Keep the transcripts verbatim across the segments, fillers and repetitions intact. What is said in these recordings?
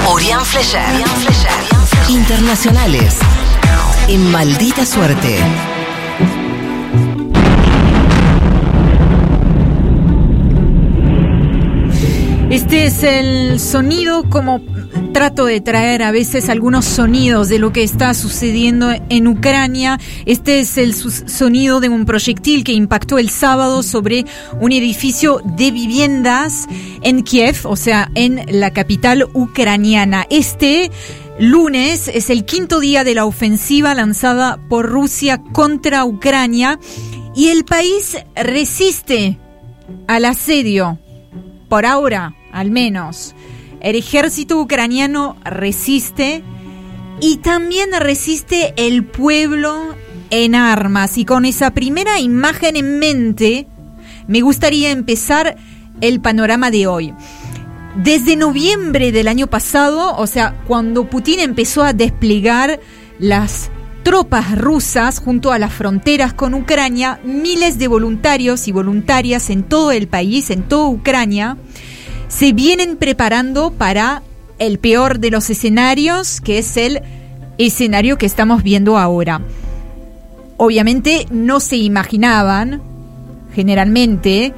Murián Flecher. Internacionales. En Maldita Suerte. Este es el sonido, como trato de traer a veces algunos sonidos de lo que está sucediendo en Ucrania. Este es el sonido de un proyectil que impactó el sábado sobre un edificio de viviendas en Kiev, o sea, en la capital ucraniana. Este lunes es el quinto día de la ofensiva lanzada por Rusia contra Ucrania y el país resiste al asedio, por ahora al menos. El ejército ucraniano resiste y también resiste el pueblo en armas. Y con esa primera imagen en mente, me gustaría empezar el panorama de hoy. Desde noviembre del año pasado, o sea, cuando Putin empezó a desplegar las tropas rusas junto a las fronteras con Ucrania, miles de voluntarios y voluntarias en todo el país, en toda Ucrania, se vienen preparando para el peor de los escenarios, que es el escenario que estamos viendo ahora. Obviamente no se imaginaban, generalmente,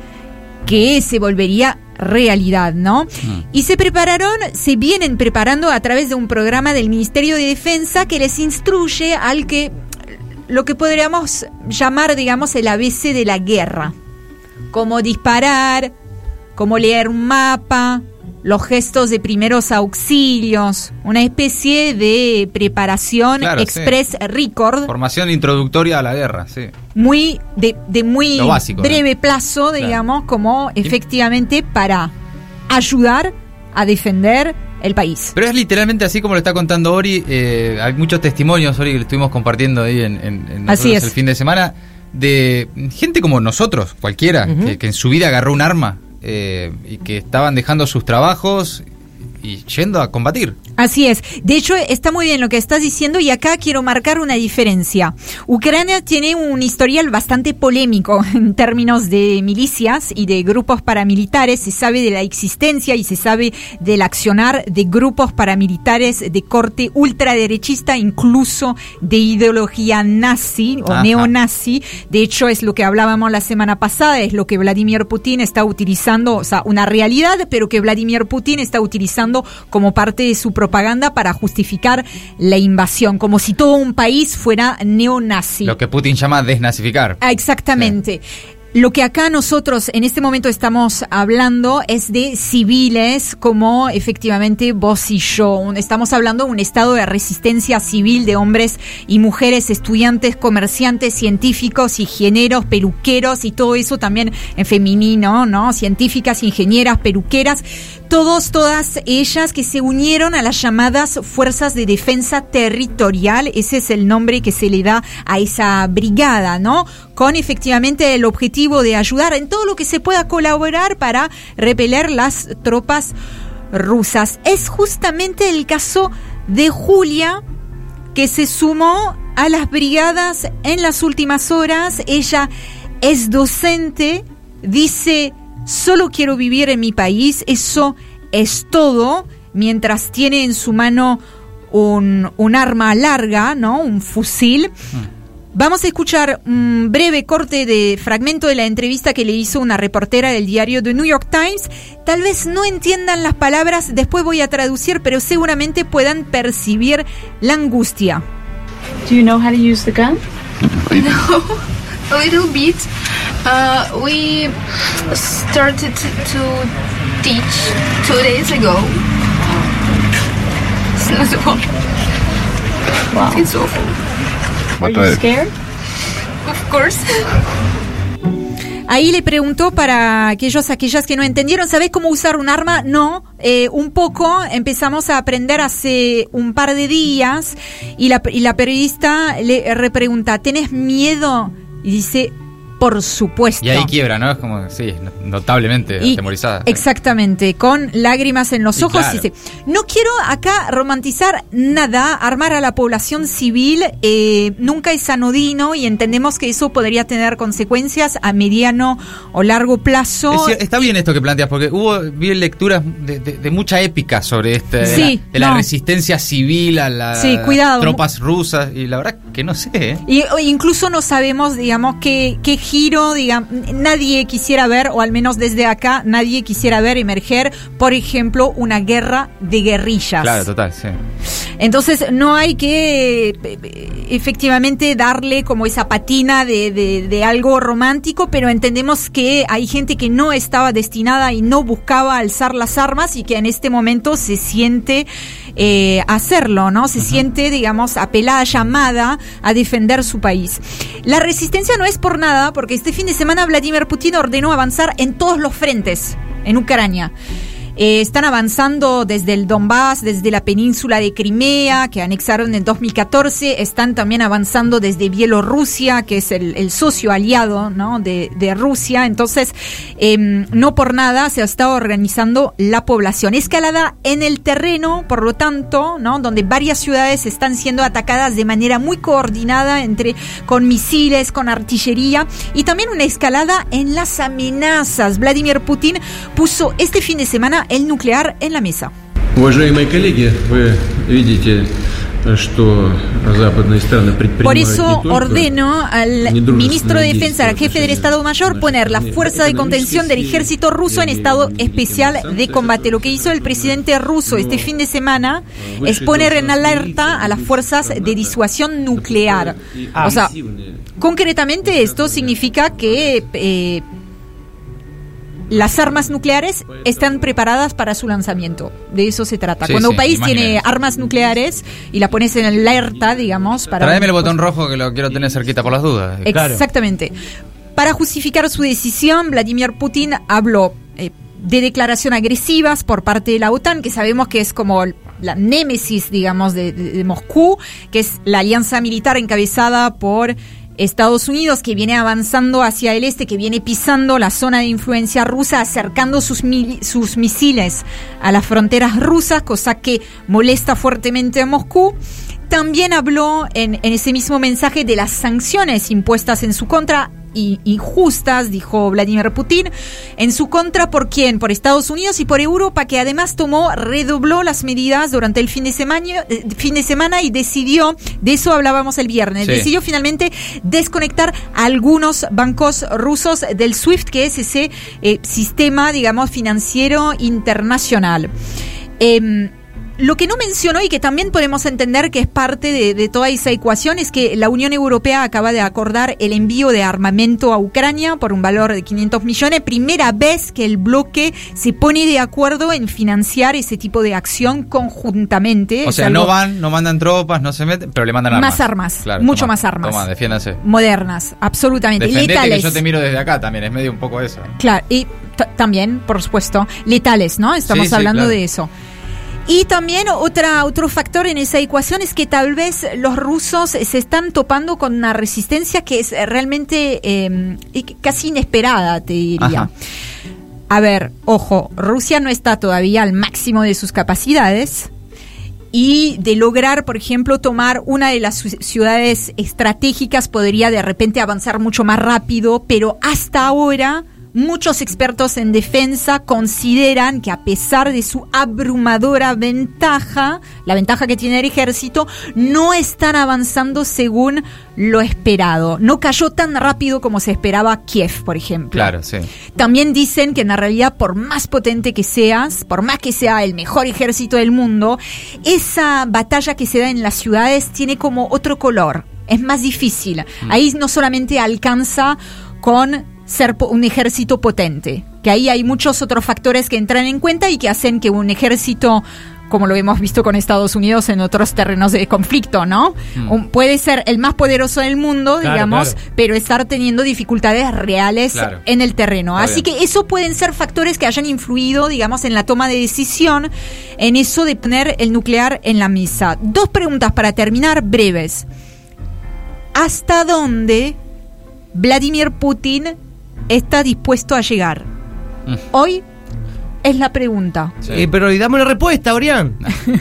que se volvería realidad, ¿no? Mm. Y se prepararon, se vienen preparando a través de un programa del Ministerio de Defensa que les instruye al que, lo que podríamos llamar, digamos, el A B C de la guerra. Cómo disparar, cómo leer un mapa, los gestos de primeros auxilios, una especie de preparación claro, express sí. record. Formación introductoria a la guerra, sí. Muy de, de muy básico, breve ¿no? plazo, digamos, claro. como efectivamente para ayudar a defender el país. Pero es literalmente así como lo está contando Ori. Eh, hay muchos testimonios, Ori, que lo estuvimos compartiendo ahí en, en, en así es. el fin de semana, de gente como nosotros, cualquiera, uh-huh. que, que en su vida agarró un arma. Eh, y que estaban dejando sus trabajos y yendo a combatir. Así es. De hecho, está muy bien lo que estás diciendo y acá quiero marcar una diferencia. Ucrania tiene un historial bastante polémico en términos de milicias y de grupos paramilitares. Se sabe de la existencia y se sabe del accionar de grupos paramilitares de corte ultraderechista, incluso de ideología nazi o Ajá. neonazi. De hecho, es lo que hablábamos la semana pasada, es lo que Vladimir Putin está utilizando, o sea, una realidad, pero que Vladimir Putin está utilizando como parte de su propaganda para justificar la invasión, como si todo un país fuera neonazi. Lo que Putin llama desnazificar. Ah, exactamente. Sí. Lo que acá nosotros en este momento estamos hablando es de civiles como efectivamente vos y yo. Estamos hablando de un estado de resistencia civil de hombres y mujeres, estudiantes, comerciantes, científicos, ingenieros, peluqueros y todo eso también en femenino, ¿no? Científicas, ingenieras, peluqueras, todos, todas ellas que se unieron a las llamadas Fuerzas de Defensa Territorial. Ese es el nombre que se le da a esa brigada, ¿no? Con efectivamente el objetivo de ayudar en todo lo que se pueda colaborar para repeler las tropas rusas. Es justamente el caso de Julia, que se sumó a las brigadas en las últimas horas. Ella es docente, dice, solo quiero vivir en mi país, eso es todo, mientras tiene en su mano un, un arma larga, ¿no? Un fusil. Mm. Vamos a escuchar un breve corte de fragmento de la entrevista que le hizo una reportera del diario The New York Times. Tal vez no entiendan las palabras, después voy a traducir, pero seguramente puedan percibir la angustia. Do you know how to use the gun? No, a little bit. Uh, we started to teach two days ago. It's not fun. Wow. It's awful. Are you scared? Of course. Ahí le preguntó para aquellos, aquellas que no entendieron, ¿sabés cómo usar un arma? No, eh, un poco, empezamos a aprender hace un par de días y la, y la periodista le repregunta, ¿tenés miedo? Y dice, por supuesto. Y ahí quiebra, ¿no? Es como, sí, notablemente y, atemorizada. Exactamente, con lágrimas en los Y ojos. claro. Sí, sí. No quiero acá romantizar nada, armar a la población civil eh, nunca es anodino y entendemos que eso podría tener consecuencias a mediano o largo plazo. Es, está bien esto que planteas, porque hubo, vi lecturas de, de, de mucha épica sobre este, de, Sí, la, de la no. resistencia civil a las Sí, cuidado. tropas rusas, y la verdad que no sé, ¿eh? Y o incluso no sabemos, digamos, qué, qué giro, digamos, nadie quisiera ver, o al menos desde acá, nadie quisiera ver emerger, por ejemplo, una guerra de guerrillas. Claro, total, sí. Entonces no hay que eh, efectivamente darle como esa patina de, de, de algo romántico, pero entendemos que hay gente que no estaba destinada y no buscaba alzar las armas y que en este momento se siente eh, hacerlo, ¿no? Se uh-huh. siente, digamos, apelada, llamada a defender su país. La resistencia no es por nada, porque este fin de semana Vladimir Putin ordenó avanzar en todos los frentes en Ucrania. Eh, están avanzando desde el Donbass, desde la península de Crimea, que anexaron en dos mil catorce. Están también avanzando desde Bielorrusia, que es el, el socio aliado, ¿no? de, de Rusia. Entonces, eh, no por nada se está organizando la población. Escalada en el terreno, por lo tanto, ¿no? Donde varias ciudades están siendo atacadas de manera muy coordinada, entre con misiles, con artillería, y también una escalada en las amenazas. Vladimir Putin puso este fin de semana el nuclear en la mesa. Уважаемые коллеги, вы видите, что западные страны предпринимают. Por eso ordeno al ministro de Defensa, al jefe del Estado Mayor, poner la fuerza de contención del ejército ruso en estado especial de combate. Lo que hizo el presidente ruso este fin de semana es poner en alerta a las fuerzas de disuasión nuclear. O sea, concretamente esto significa que eh, las armas nucleares están preparadas para su lanzamiento. De eso se trata. Sí, Cuando sí, un país imagínate. tiene armas nucleares y la pones en alerta, digamos, para... Tráeme el botón rojo que lo quiero tener cerquita por las dudas. Exactamente. Para justificar su decisión, Vladimir Putin habló eh, de declaraciones agresivas por parte de la OTAN, que sabemos que es como la némesis, digamos, de, de, de Moscú, que es la alianza militar encabezada por Estados Unidos, que viene avanzando hacia el este, que viene pisando la zona de influencia rusa, acercando sus, mil, sus misiles a las fronteras rusas, cosa que molesta fuertemente a Moscú. También habló en, en ese mismo mensaje de las sanciones impuestas en su contra, y injustas, dijo Vladimir Putin, en su contra. ¿Por quién? Por Estados Unidos y por Europa, que además tomó, redobló las medidas durante el fin de semana, eh, fin de semana y decidió, de eso hablábamos el viernes, sí. decidió finalmente desconectar a algunos bancos rusos del SWIFT, que es ese eh, sistema, digamos, financiero internacional. Eh, Lo que no mencionó y que también podemos entender que es parte de, de toda esa ecuación es que la Unión Europea acaba de acordar el envío de armamento a Ucrania por un valor de quinientos millones. Primera vez que el bloque se pone de acuerdo en financiar ese tipo de acción conjuntamente. O sea, no van, no mandan tropas, no se meten, pero le mandan armas. Más armas, claro, mucho toma, más armas. Toma, defiéndase. Modernas, absolutamente. Defendete, letales. que yo te miro desde acá también, es medio un poco eso. Claro, y t- también, por supuesto, letales, ¿no? Estamos Sí, sí, hablando claro. de eso. Y también otra, otro factor en esa ecuación es que tal vez los rusos se están topando con una resistencia que es realmente eh, casi inesperada, te diría. Ajá. A ver, ojo, Rusia no está todavía al máximo de sus capacidades y de lograr, por ejemplo, tomar una de las ciudades estratégicas podría de repente avanzar mucho más rápido, pero hasta ahora muchos expertos en defensa consideran que a pesar de su abrumadora ventaja, la ventaja que tiene el ejército, no están avanzando según lo esperado. No cayó tan rápido como se esperaba Kiev, por ejemplo. Claro, sí. También dicen que en la realidad, por más potente que seas, por más que sea el mejor ejército del mundo, esa batalla que se da en las ciudades tiene como otro color. Es más difícil. Mm. Ahí no solamente alcanza con ser un ejército potente, que ahí hay muchos otros factores que entran en cuenta y que hacen que un ejército, como lo hemos visto con Estados Unidos en otros terrenos de conflicto, ¿no? Mm. Un, puede ser el más poderoso del mundo, claro, digamos, claro. pero estar teniendo dificultades reales claro. en el terreno. Está Así bien. que eso pueden ser factores que hayan influido, digamos, en la toma de decisión, en eso de poner el nuclear en la mesa. Dos preguntas para terminar, breves. ¿Hasta dónde Vladimir Putin está dispuesto a llegar? Mm. Hoy es la pregunta. Sí. Eh, pero y dame una respuesta, Orián.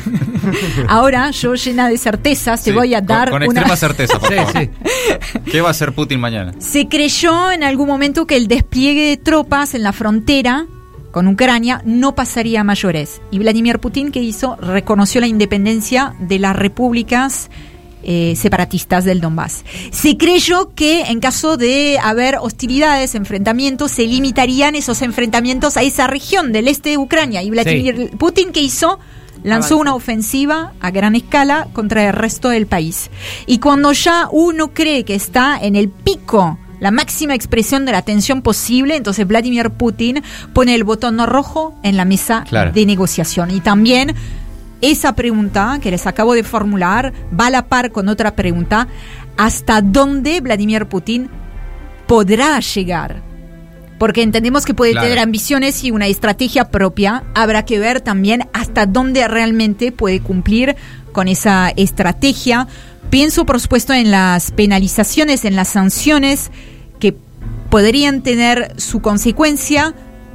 Ahora, yo llena de certezas, te sí, voy a dar con, con una... extrema certeza, por favor. Sí, sí. ¿Qué va a hacer Putin mañana? Se creyó en algún momento que el despliegue de tropas en la frontera con Ucrania no pasaría a mayores. Y Vladimir Putin, ¿qué hizo? Reconoció la independencia de las repúblicas eh, separatistas del Donbass. Se creyó que en caso de haber hostilidades, enfrentamientos, se limitarían esos enfrentamientos a esa región del este de Ucrania. Y Vladimir sí. Putin, ¿qué hizo? Lanzó una ofensiva a gran escala contra el resto del país. Y cuando ya uno cree que está en el pico, la máxima expresión de la tensión posible, entonces Vladimir Putin pone el botón rojo en la mesa claro. de negociación. Y también esa pregunta que les acabo de formular va a la par con otra pregunta: ¿hasta dónde Vladimir Putin podrá llegar? Porque entendemos que puede claro. tener ambiciones y una estrategia propia. Habrá que ver también hasta dónde realmente puede cumplir con esa estrategia. Pienso, por supuesto, en las penalizaciones, en las sanciones que podrían tener su consecuencia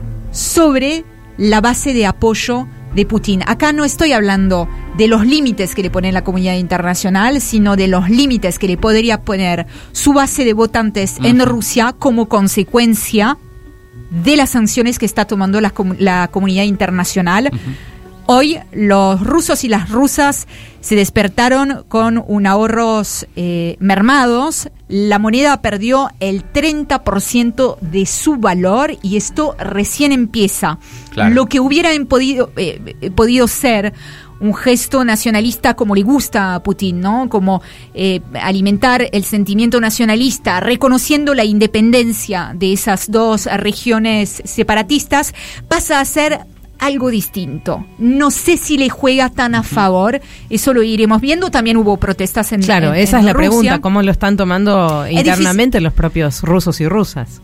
sobre la base de apoyo de Putin. Acá no estoy hablando de los límites que le pone la comunidad internacional, sino de los límites que le podría poner su base de votantes uh-huh. en Rusia como consecuencia de las sanciones que está tomando la, la comunidad internacional. Uh-huh. Hoy los rusos y las rusas se despertaron con un ahorros eh, mermados. La moneda perdió el treinta por ciento de su valor y esto recién empieza. Claro. Lo que hubiera podido, eh, podido ser un gesto nacionalista como le gusta a Putin, ¿no? Como eh, alimentar el sentimiento nacionalista, reconociendo la independencia de esas dos regiones separatistas, pasa a ser algo distinto. No sé si le juega tan a favor, eso lo iremos viendo. También hubo protestas en Claro, en, esa en es la Rusia. pregunta, ¿cómo lo están tomando es internamente difícil. Los propios rusos y rusas?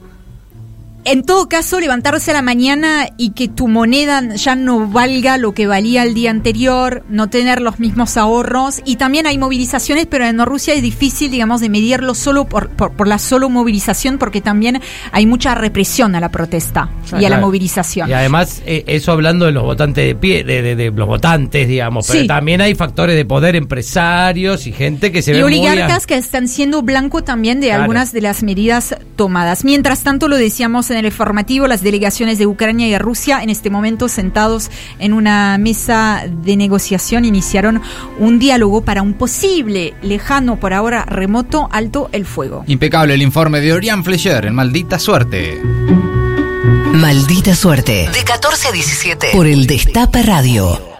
En todo caso, levantarse a la mañana y que tu moneda ya no valga lo que valía el día anterior, no tener los mismos ahorros, y también hay movilizaciones, pero en Rusia es difícil, digamos, de medirlo solo por, por, por la solo movilización, porque también hay mucha represión a la protesta ah, y a claro. la movilización. Y además, eh, eso hablando de los votantes de pie, de, de, de los votantes, digamos, pero sí. también hay factores de poder, empresarios y gente que se y ve oligarcas muy a... que están siendo blanco también de claro. algunas de las medidas tomadas. Mientras tanto, lo decíamos en el informativo, las delegaciones de Ucrania y de Rusia en este momento sentados en una mesa de negociación iniciaron un diálogo para un posible, lejano por ahora remoto, alto el fuego. Impecable el informe de Orián Fleischer en Maldita Suerte. Maldita Suerte, de catorce a diecisiete, por el Destape Radio.